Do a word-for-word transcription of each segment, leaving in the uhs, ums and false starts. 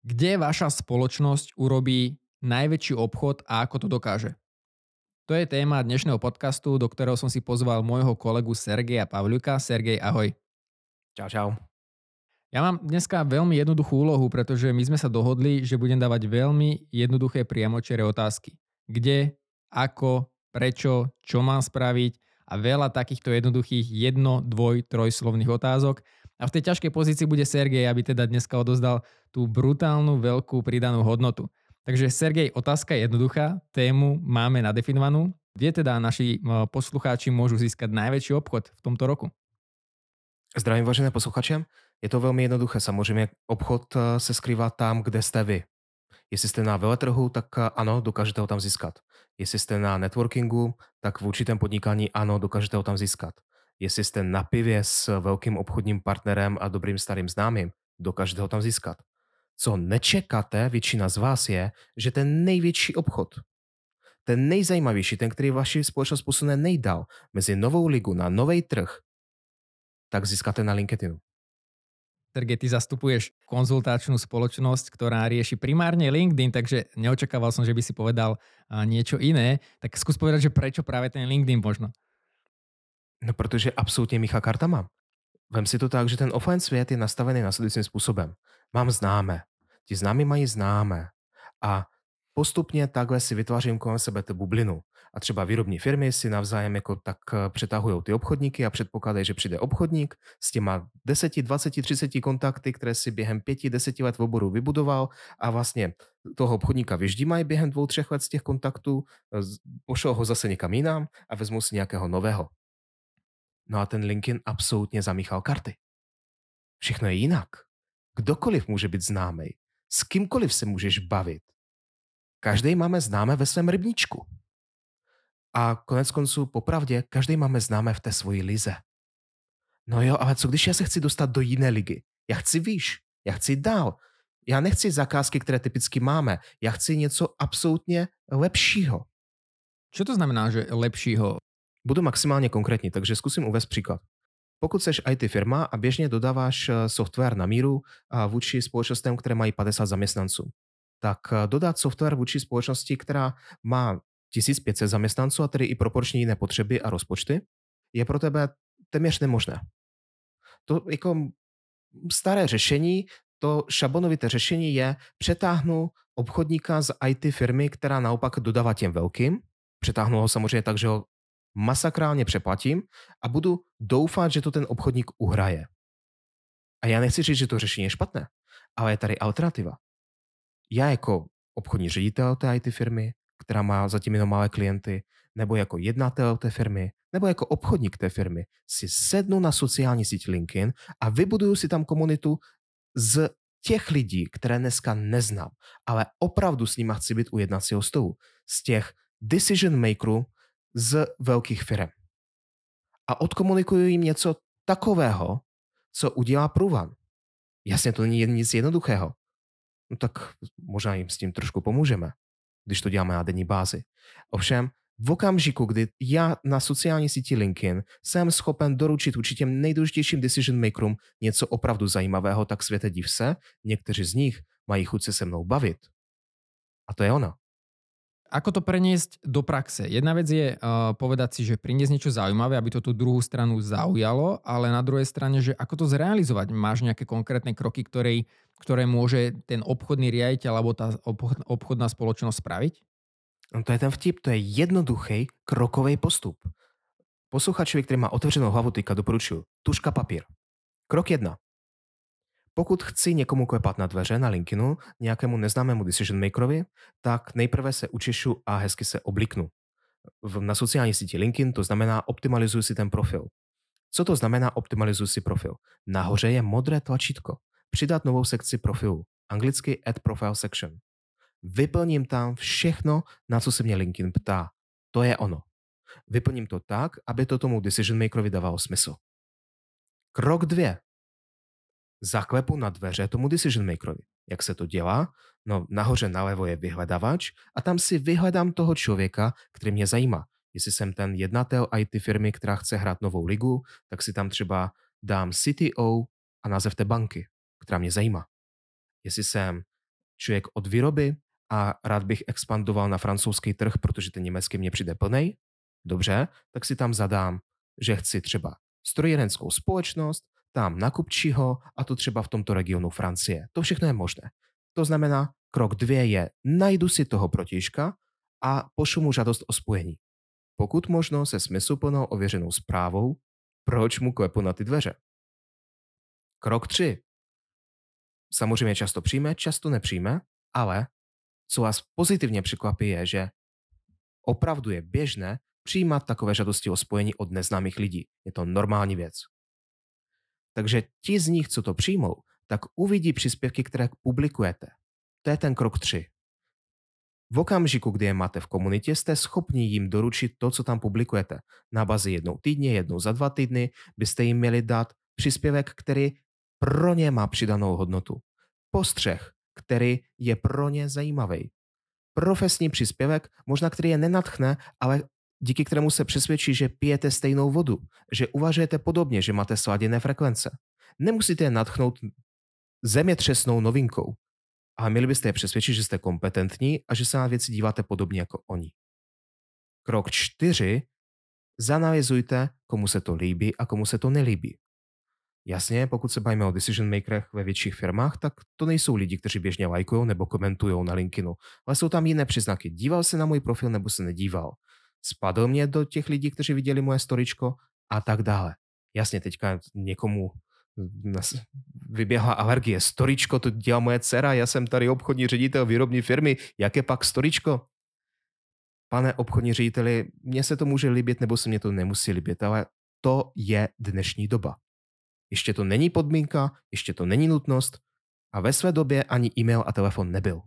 Kde vaša spoločnosť urobí najväčší obchod a ako to dokáže? To je téma dnešného podcastu, do ktorého som si pozval môjho kolegu Sergeja Pavľuka. Sergej, ahoj. Čau, čau. Ja mám dneska veľmi jednoduchú úlohu, pretože my sme sa dohodli, že budem dávať veľmi jednoduché priamočiare otázky. Kde, ako, prečo, čo mám spraviť a veľa takýchto jednoduchých jedno, dvoj, trojslovných otázok. A v tej ťažkej pozícii bude Sergej, aby teda dneska odozdal tú brutálnu veľkú pridanú hodnotu. Takže Sergej, otázka je jednoduchá, tému máme nadefinovanú. Kde teda naši eh, poslucháči môžu získať najväčší obchod v tomto roku? Zdravím vážené posluchače. Je to velmi jednoduché. Samozřejmě obchod eh, se skrývá tam, kde jste vy. Jestli jste na veletrhu, tak eh, ano, dokážete ho tam získat. Jestli jste na networkingu, tak v určitém podnikání ano, dokážete ho tam získat. Jestli jste na pivě s velkým obchodním partnerem a dobrým starým známým, dokážete ho tam získat. Co nečekáte, většina z vás je, že ten největší obchod, ten nejzajímavější, ten, který vaši společnost posune nejdál mezi novou ligu na nový trh, tak získáte na LinkedInu. Sergej, ty zastupuješ konzultačnú spoločnosť, ktorá rieši primárne LinkedIn, takže neočakával som, že by si povedal a, niečo iné. Tak skús povedať, že prečo práve ten LinkedIn možno. No, protože absolutně mícha kartama. Vem si to tak, že ten offline svět je nastavený následujícím způsobem. Mám známé. Ti známí mají známé. A postupně takhle si vytvářím kolem sebe tu bublinu. A třeba výrobní firmy si navzájem jako tak eh, přetahují ty obchodníky a předpokládají, že přijde obchodník s těma deseti, dvaceti, třiceti kontakty, které si během pěti, deseti let v oboru vybudoval a vlastně toho obchodníka vyždímají během dvou, třech let z těch kontaktů, eh, z- pošlou ho zase někam jinam a vezmou si nějakého nového. No a ten LinkedIn absolutně zamíchal karty. Všechno je jinak. Kdokoliv může být známý. S kýmkoliv se můžeš bavit. Každý máme známé ve svém rybníčku. A konec konců, popravdě, každý máme známé v té svojí lize. No jo, ale co když já se chci dostat do jiné ligy? Já chci výš, já chci dál. Já nechci zakázky, které typicky máme. Já chci něco absolutně lepšího. Čo to znamená, že lepšího? Budu maximálně konkrétní, takže zkusím uvést příklad. Pokud jsi í té firma a běžně dodáváš eh, software na míru a vůči společnostem, které mají padesát zaměstnanců, tak eh, dodat software vůči společnosti, která má tisíc pět set zaměstnanců a tedy i proporčně jiné potřeby a rozpočty, je pro tebe téměř nemožné. To jako staré řešení, to šablonovité řešení je, přetáhnu obchodníka z í té firmy, která naopak dodává těm velkým, přetáhnu ho samozřejmě tak, že ho masakrálně přeplatím a budu doufat, že to ten obchodník uhraje. A já nechci říct, že to řešení je špatné, ale je tady alternativa. Já jako obchodní ředitel té í té firmy, která má zatím jenom malé klienty, nebo jako jednatel té firmy, nebo jako obchodník té firmy, si sednu na sociální síť LinkedIn a vybuduju si tam komunitu z těch lidí, které dneska neznám, ale opravdu s nimi chci být u jednacího stolu. Z těch decision makerů z velkých firm. A odkomunikuju jim něco takového, co udělá průvan. Jasně, to není nic jednoduchého. No tak možná jim s tím trošku pomůžeme, když to děláme na denní bázi. Ovšem, v okamžiku, kdy já na sociální síti LinkedIn jsem schopen doručit určitě nejdůležitějším decision makerům něco opravdu zajímavého, tak světe div se, někteří z nich mají chuť se se mnou bavit. A to je ono. Ako to preniesť do praxe? Jedna vec je uh, povedať si, že priniesť niečo zaujímavé, aby to tú druhú stranu zaujalo, ale na druhej strane, že ako to zrealizovať? Máš nejaké konkrétne kroky, ktoré, ktoré môže ten obchodný riaditeľ alebo tá obchod, obchodná spoločnosť spraviť? No to je ten vtip, to je jednoduchý krokový postup. Posluchačovi, který má otevřenou hlavu, teďka doporučuji. Tužka, papír. Krok jedna. Pokud chci někomu klepat na dveře na LinkedInu, nějakému neznámému decision makerovi, tak nejprve se učešu a hezky se obliknu. V, na sociální síti LinkedIn to znamená optimalizuji si ten profil. Co to znamená optimalizuji si profil? Nahoře je modré tlačítko. Přidat novou sekci profilu. Anglicky Add Profile Section. Vyplním tam všechno, na co se mě LinkedIn ptá. To je ono. Vyplním to tak, aby to tomu decision makerovi dávalo smysl. Krok dvě. Zaklepu na dveře tomu decision makerovi. Jak se to dělá? No, nahoře nalevo je vyhledávač a tam si vyhledám toho člověka, který mě zajímá. Jestli jsem ten jednatel í té firmy, která chce hrát novou ligu, tak si tam třeba dám C T O a název té banky, která mě zajímá. Jestli jsem člověk od výroby a rád bych expandoval na francouzský trh, protože ten německý mě přijde plnej. Dobře, tak si tam zadám, že chci třeba strojírenskou společnost, tam nakupčího a to třeba v tomto regionu Francie. To všechno je možné. To znamená, krok dvě je, najdu si toho protižka a pošlu mu žádost o spojení. Pokud možno se smysluplnou ověřenou zprávou, proč mu klepu na ty dveře. Krok tři. Samozřejmě často přijme, často nepřijme, ale co vás pozitivně překvapí je, že opravdu je běžné přijímat takové žádosti o spojení od neznámých lidí. Je to normální věc. Takže ti z nich, co to přijmou, tak uvidí příspěvky, které publikujete. To je ten krok tři. V okamžiku, kdy je máte v komunitě, jste schopni jim doručit to, co tam publikujete. Na bazi jednou týdně, jednou za dva týdny byste jim měli dát příspěvek, který pro ně má přidanou hodnotu. Postřeh, který je pro ně zajímavý. Profesní příspěvek, možná který je nenadchne, ale díky kterému se přesvědčí, že pijete stejnou vodu, že uvažujete podobně, že máte sladěné frekvence. Nemusíte je nadchnout zemětřesnou novinkou, ale měli byste je přesvědčit, že jste kompetentní a že se na věci díváte podobně jako oni. Krok čtyři. Zanalyzujte, komu se to líbí a komu se to nelíbí. Jasně, pokud se bavíme o decision makerech ve větších firmách, tak to nejsou lidi, kteří běžně lajkují nebo komentují na LinkedInu, ale jsou tam jiné příznaky. Díval se na můj profil nebo se nedíval. Spadl mě do těch lidí, kteří viděli moje storičko a tak dále. Jasně, teďka někomu vyběhla alergie. Storičko, to dělá moje dcera, já jsem tady obchodní ředitel výrobní firmy, jaké pak storičko? Pane obchodní řediteli, mně se to může líbit, nebo se mě to nemusí líbit, ale to je dnešní doba. Ještě to není podmínka, ještě to není nutnost a ve své době ani e-mail a telefon nebyl.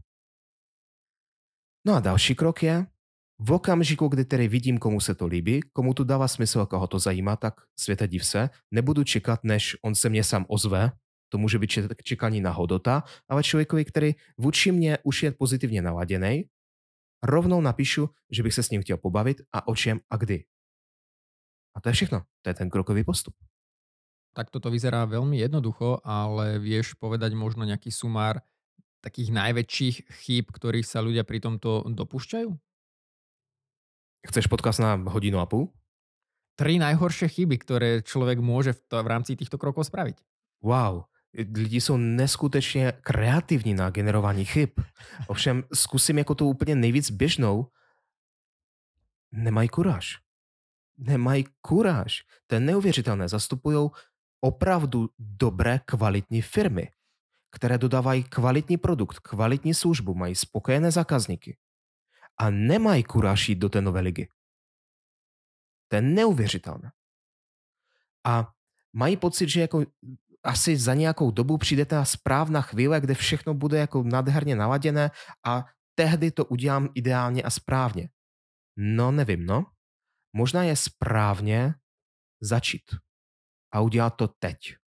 No a další krok je, v okamžiku, kdy tedy vidím, komu se to líbí, komu to dává smysl, koho to zajímá, tak světe div se, nebudu čekat, než on se mě sám ozve, to může být čekání na hodota, ale člověkovi, který vůči mě už je pozitivně naladěný, rovnou napíšu, že bych se s ním chtěl pobavit a o čem a kdy. A to je všechno. To je ten krokový postup. Tak toto vyzerá veľmi jednoducho, ale vieš povedať možno nejaký sumár takých najväčších chýb, ktorých sa ľudia pri tomto dopúšťajú? Chceš podcast na hodinu a půl? Tri najhoršie chyby, ktoré človek môže v, to, v rámci týchto krokov spraviť. Wow, lidi jsou neskutečně kreativní na generování chyb. Ovšem zkusím jako tu úplně nejvíc běžnou. Nemají kuráž. Nemají kuráž. To je neuvěřitelné. Zastupují opravdu dobré, kvalitní firmy, které dodávají kvalitní produkt, kvalitní službu, mají spokojené zákazníky a nemají kuráž jít do té nové ligy. To je neuvěřitelné. A mají pocit, že jako asi za nějakou dobu přijde ta správná chvíle, kde všechno bude jako nádherně naladěné a tehdy to udělám ideálně a správně. No nevím, no. Možná je správně začít a udělat to teď.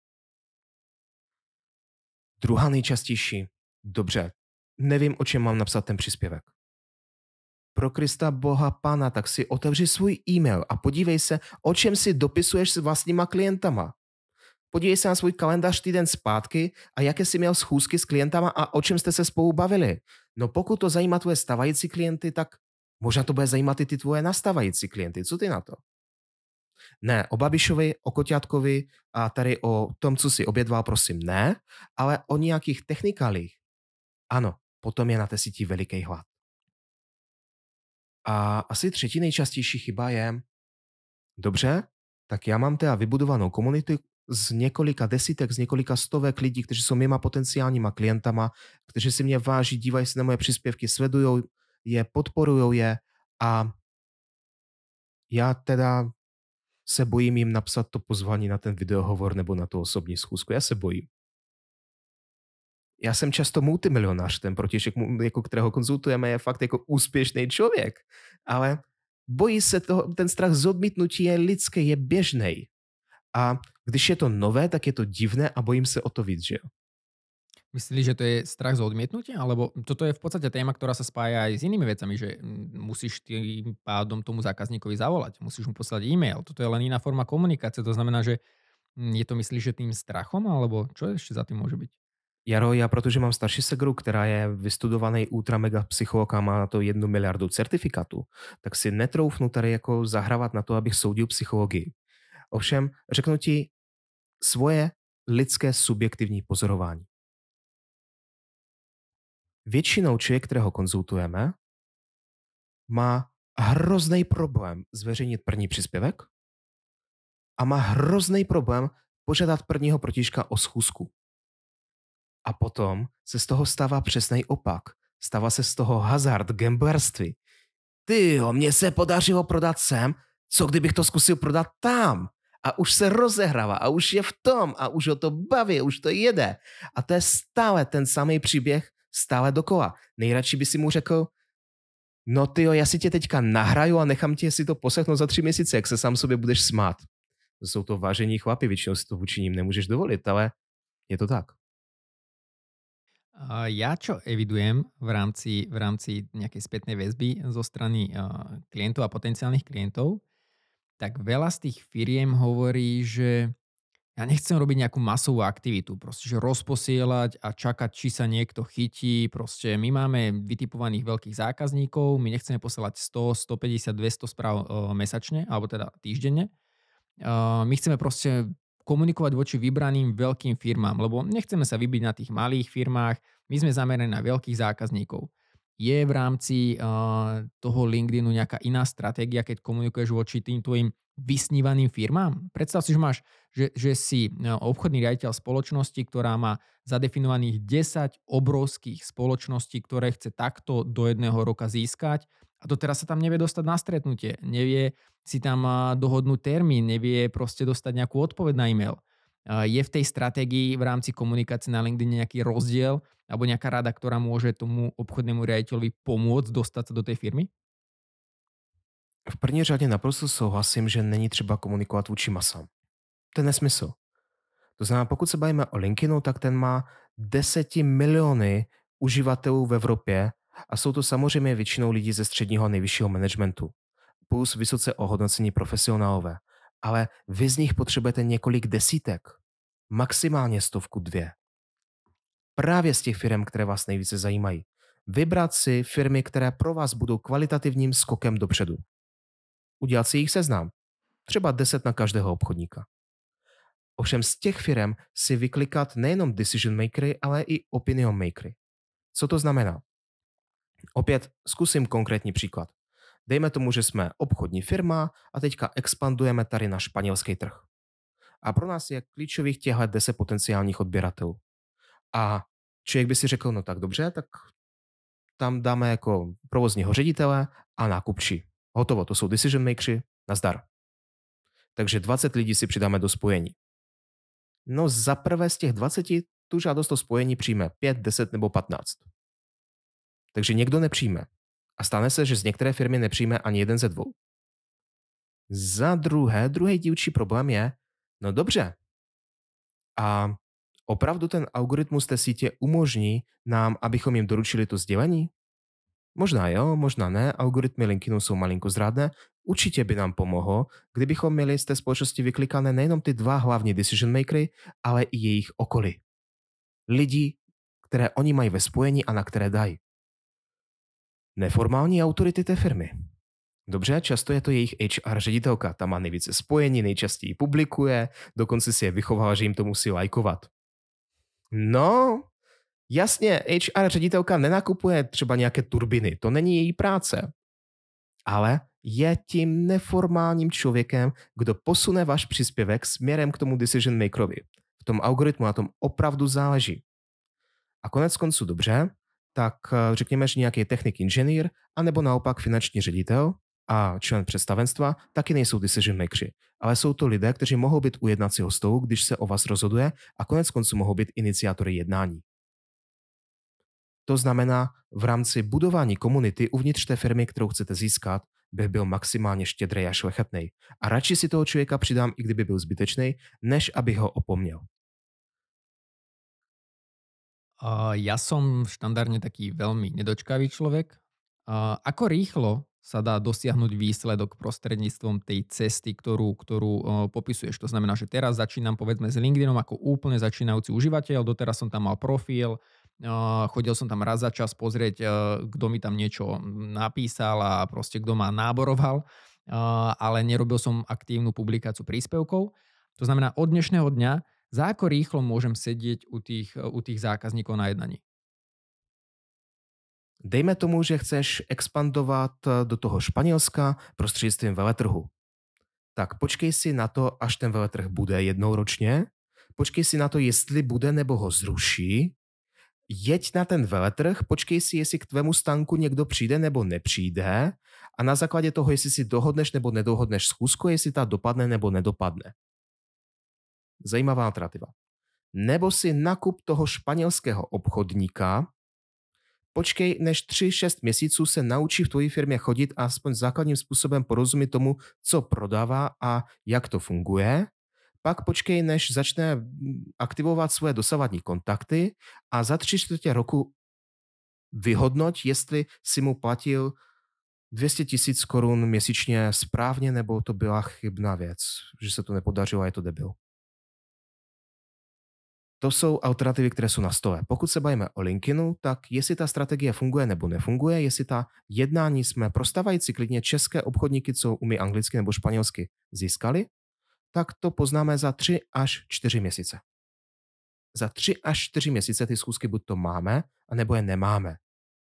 Druhá nejčastější. Dobře, nevím, o čem mám napsat ten příspěvek. Pro Krista Boha Pana, tak si otevři svůj e-mail a podívej se, o čem si dopisuješ s vlastníma klientama. Podívej se na svůj kalendář týden zpátky a jaké jsi měl schůzky s klientama a o čem jste se spolu bavili. No pokud to zajímá tvoje stávající klienty, tak možná to bude zajímat i ty tvoje nastávající klienty. Co ty na to? Ne, o Babišovi, o Koťátkovi a tady o tom, co si obědval, prosím, ne, ale o nějakých technikálích. Ano, potom je na té síti veliký hlad. A asi třetí nejčastější chyba je, dobře, tak já mám teda vybudovanou komunitu z několika desítek, z několika stovek lidí, kteří jsou mýma potenciálníma klientama, kteří si mě váží, dívají se na moje příspěvky, sledují je, podporují je a já teda se bojím jim napsat to pozvání na ten videohovor nebo na tu osobní schůzku. Já se bojím. Já jsem často multimilionář, ten protějšek, jako kterého konzultujeme, je fakt jako úspěšný člověk. Ale bojí se toho, ten strach z odmítnutí je lidský, je běžný. A když je to nové, tak je to divné a bojím se o to víc, že jo? Myslíš, že to je strach z odmietnutia? Alebo toto je v podstate téma, ktorá sa spája aj s inými vecami, že mm, musíš tým pádom tomu zákazníkovi zavolať, musíš mu poslať e-mail. Toto je len iná forma komunikácie. To znamená, že mm, je to myslíš, že tým strachom, alebo čo ešte za tým môže byť? Jaro, já protože mám starší segru, která je vystudovaný ultra mega psycholog a má na to jednu miliardu certifikátů, tak si netroufnu tady jako zahrávat na to, abych soudil psychologii. Ovšem, řeknu ti svoje lidské subjektivní pozorování. Většinou člověk, kterého konzultujeme, má hrozný problém zveřejnit první příspěvek a má hrozný problém požádat prvního protižka o schůzku. A potom se z toho stává přesný opak. Stává se z toho hazard, gamblerství. Ty jo, mně se podařilo prodat sem, co kdybych to zkusil prodat tam? A už se rozehrává a už je v tom a už ho to baví, už to jede. A to je stále ten samý příběh, stále dokola. Nejradši by si mu řekl, no ty jo, já si tě teďka nahraju a nechám tě si to poslechnout za tři měsíce, jak se sám sobě budeš smát. To jsou to vážení chlapi, většinou si to vůči ním nemůžeš dovolit, ale je to tak. A ja čo evidujem v rámci, v rámci nejakej spätnej väzby zo strany a, klientov a potenciálnych klientov, tak veľa z tých firiem hovorí, že ja nechcem robiť nejakú masovú aktivitu, proste, že rozposielať a čakať, či sa niekto chytí. Proste my máme vytipovaných veľkých zákazníkov, my nechceme posielať sto, stopäťdesiat, dvesto správ e, mesačne, alebo teda týždenne. Uh, my chceme proste komunikovať voči vybraným veľkým firmám, lebo nechceme sa vybiť na tých malých firmách, my sme zameraní na veľkých zákazníkov. Je v rámci uh, toho LinkedInu nejaká iná stratégia, keď komunikuješ voči tým tvojim vysnívaným firmám? Predstav si, že máš, že, že si uh, obchodný riaditeľ spoločnosti, ktorá má zadefinovaných desať obrovských spoločností, ktoré chce takto do jedného roka získať a to teraz sa tam nevie dostať na stretnutie, nevie si tam a, dohodnúť termín, nevie proste dostať nejakú odpoveď na e-mail. A je v tej stratégii v rámci komunikácie na LinkedIn nejaký rozdiel alebo nejaká rada, ktorá môže tomu obchodnému riaditeľovi pomôcť dostať sa do tej firmy? V první řadě naprosto souhlasím, že není třeba komunikovat vůči masám. To je nesmysl. To znamená, pokud se bavíme o LinkedInu, tak ten má deseti miliony uživatelů v Evropě a jsou to samozřejmě většinou lidi ze středního a nejvyššího managementu. Plus vysoce ohodnocení profesionálové. Ale vy z nich potřebujete několik desítek. Maximálně stovku dvě. Právě z těch firm, které vás nejvíce zajímají. Vybrat si firmy, které pro vás budou kvalitativním skokem dopředu. Udělat si jich seznam. Třeba deset na každého obchodníka. Ovšem z těch firm si vyklikat nejenom decision makery, ale i opinion makery. Co to znamená? Opět zkusím konkrétní příklad. Dejme tomu, že jsme obchodní firma a teďka expandujeme tady na španělský trh. A pro nás je klíčových těchto deset potenciálních odběratelů. A člověk by si řekl, no tak dobře, tak tam dáme jako provozního ředitele a nákupčí. Hotovo, to jsou decision makery, nazdar. Takže dvacet lidí si přidáme do spojení. No za prvé z těch dvaceti tu žádost o spojení přijme pět, deset nebo patnáct. Takže někdo nepřijme. A stane se, že z některé firmy nepřijme ani jeden ze dvou. Za druhé, druhý dílčí problém je, no dobře, a opravdu ten algoritmus té sítě umožní nám, abychom jim doručili to sdělení? Možná jo, možná ne, algoritmy LinkedInu jsou malinko zrádné. Určitě by nám pomohlo, kdybychom měli z té společnosti vyklikané nejenom ty dva hlavní decision makery, ale i jejich okolí. Lidi, které oni mají ve spojení a na které dají. Neformální autority té firmy. Dobře, často je to jejich H R ředitelka, ta má nejvíce spojení, nejčastěji publikuje, dokonce si je vychovala, že jim to musí lajkovat. No, jasně, H R ředitelka nenakupuje třeba nějaké turbiny, to není její práce. Ale je tím neformálním člověkem, kdo posune váš příspěvek směrem k tomu decision makerovi. V tom algoritmu na tom opravdu záleží. A konec konců dobře, tak řekněme, že nějaký technik inženýr, anebo naopak finanční ředitel a člen představenstva taky nejsou decision makeri, ale jsou to lidé, kteří mohou být u jednacího stolu, když se o vás rozhoduje a konec konců mohou být iniciátory jednání. To znamená, v rámci budování komunity uvnitř té firmy, kterou chcete získat, bych byl maximálně štědrý a šlechetnej. A radši si toho člověka přidám, i kdyby byl zbytečný, než abych ho opomněl. Uh, ja som štandardne taký veľmi nedočkavý človek. Uh, ako rýchlo sa dá dosiahnuť výsledok prostredníctvom tej cesty, ktorú, ktorú o, popisuješ. To znamená, že teraz začínam povedzme s LinkedInom ako úplne začínajúci užívateľ, doteraz som tam mal profil, o, chodil som tam raz za čas pozrieť, o, kto mi tam niečo napísal a proste kto ma náboroval, o, ale nerobil som aktívnu publikáciu príspevkov. To znamená, od dnešného dňa, za ako rýchlo môžem sedieť u tých, u tých zákazníkov na jednaní? Dejme tomu, že chceš expandovat eh, do toho Španělska prostřednictvím veletrhu. Tak počkej si na to, až ten veletrh bude jednou ročně. Počkej si na to, jestli bude nebo ho zruší. Jeď na ten veletrh, počkej si, jestli k tvému stánku někdo přijde nebo nepřijde a na základě toho, jestli si dohodneš nebo nedohodneš schůzku, jestli ta dopadne nebo nedopadne. Zajímavá alternativa. Nebo si nakup toho španělského obchodníka, počkej, než tři šest měsíců se naučí v tvojí firmě chodit a aspoň základním způsobem porozumí tomu, co prodává a jak to funguje. Pak počkej, než začne mm, aktivovat svoje dosavadní kontakty a za tři čtvrtě roku vyhodnoť, jestli si mu platil dvě stě tisíc korun měsíčně správně, nebo to byla chybná věc, že se to nepodařilo a je to debil. To jsou alternativy, které jsou na stole. Pokud se bavíme o LinkedInu, tak jestli ta strategie funguje nebo nefunguje, jestli ta jednání jsme prostávající klidně české obchodníky, co umí anglicky nebo španělsky, získali, tak to poznáme za tři až čtyři měsíce. Za tři až čtyři měsíce ty schůzky buď to máme, anebo je nemáme.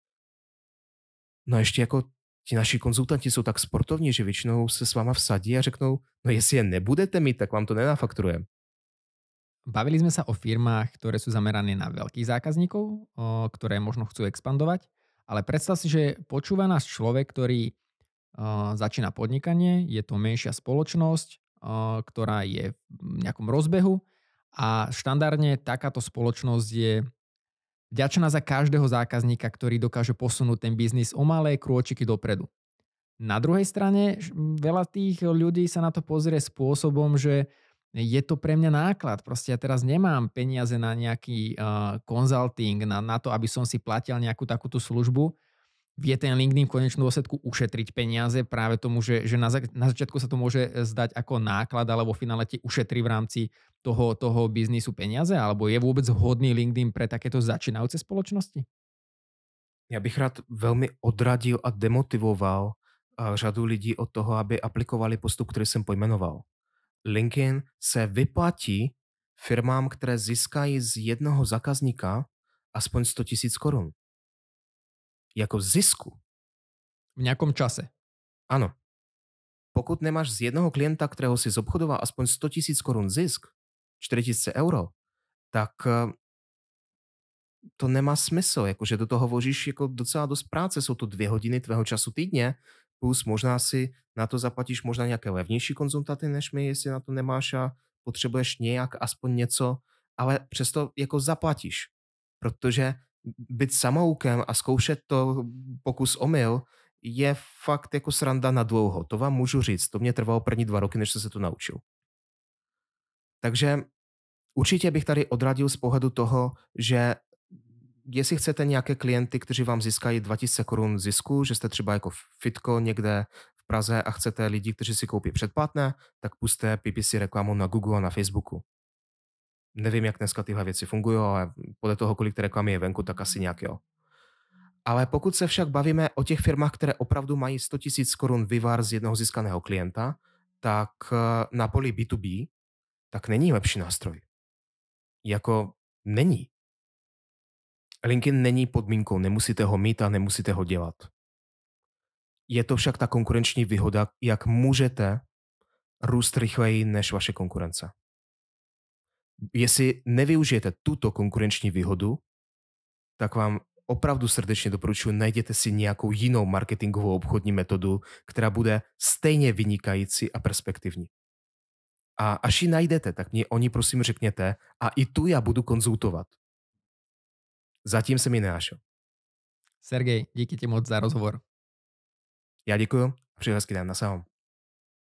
No a ještě jako ti naši konzultanti jsou tak sportovní, že většinou se s váma vsadí a řeknou, no jestli je nebudete mít, tak vám to nenafakturujeme. Bavili sme sa o firmách, ktoré sú zamerané na veľkých zákazníkov, o, ktoré možno chcú expandovať, ale predstav si, že počúva nás človek, ktorý o, začína podnikanie, je to menšia spoločnosť, o, ktorá je v nejakom rozbehu a štandardne takáto spoločnosť je vďačná za každého zákazníka, ktorý dokáže posunúť ten biznis o malé krôčiky dopredu. Na druhej strane š- veľa tých ľudí sa na to pozrie spôsobom, že je to pre mňa náklad. Proste ja teraz nemám peniaze na nejaký uh, consulting, na, na to, aby som si platil nejakú takúto službu. Vie ten LinkedIn v konečnom dôsledku ušetriť peniaze práve tomu, že, že na, za- na začiatku sa to môže zdať ako náklad, alebo v finále ti ušetrí v rámci toho, toho biznisu peniaze, alebo je vôbec vhodný LinkedIn pre takéto začínajúce spoločnosti? Já bych rád velmi odradil a demotivoval a, řadu lidí od toho, aby aplikovali postup, který jsem pojmenoval. LinkedIn se vyplatí firmám, které získají z jednoho zákazníka aspoň sto tisíc korun. Jako zisku. V nejakom čase. Ano. Pokud nemáš z jednoho klienta, kterého si zobchodoval aspoň sto tisíc korun zisk, čtyři tisíce euro, tak eh, to nemá smysl, jakože do toho vložíš jako docela dost práce, jsou to dvě hodiny tvého času týdně, plus možná si na to zaplatíš možná nějaké levnější konzultaty než my, jestli na to nemáš a potřebuješ nějak aspoň něco, ale přesto jako zaplatíš, protože být samoukem a zkoušet to pokus omyl je fakt jako sranda na dlouho. To vám můžu říct, to mě trvalo první dva roky, než jsem se to naučil. Takže určitě bych tady odradil z pohledu toho, že jestli chcete nějaké klienty, kteří vám získají dva tisíce korun zisku, že jste třeba jako Fitko někde v Praze a chcete lidi, kteří si koupí předplatné, tak puste P P C reklamu na Google a na Facebooku. Nevím, jak dneska tyhle věci fungují, ale podle toho, kolik té reklamy je venku, tak asi nějak jo. Ale pokud se však bavíme o těch firmách, které opravdu mají sto tisíc korun vyvar z jednoho získaného klienta, tak eh, na poli B dva B tak není lepší nástroj. Jako není. LinkedIn není podmínkou, nemusíte ho mít a nemusíte ho dělat. Je to však ta konkurenční výhoda, jak můžete růst rychleji než vaše konkurence. Jestli nevyužijete tuto konkurenční výhodu, tak vám opravdu srdečně doporučuji, najděte si nějakou jinou marketingovou obchodní metodu, která bude stejně vynikající a perspektivní. A až ji najdete, tak mě o ní prosím řekněte a i tu já budu konzultovat. Zatím se mi nenašel. Sergej, díky ti moc za rozhovor. Já děkuji a přeji hezký den. Nasahom.